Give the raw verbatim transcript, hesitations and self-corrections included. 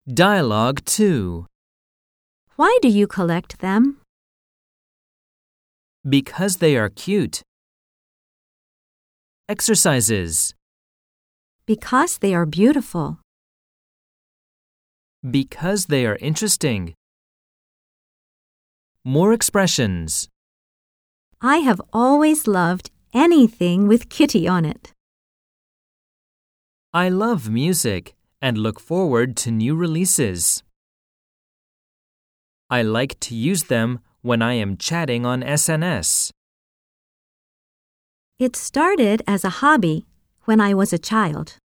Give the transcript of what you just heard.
Dialogue two. Why do you collect them? Because they are cute. Exercises. Because they are beautiful. Because they are interesting. More expressions. I have always loved anything with Kitty on it. I love music and look forward to new releases. I like to use them when I am chatting on S N S. It started as a hobby when I was a child.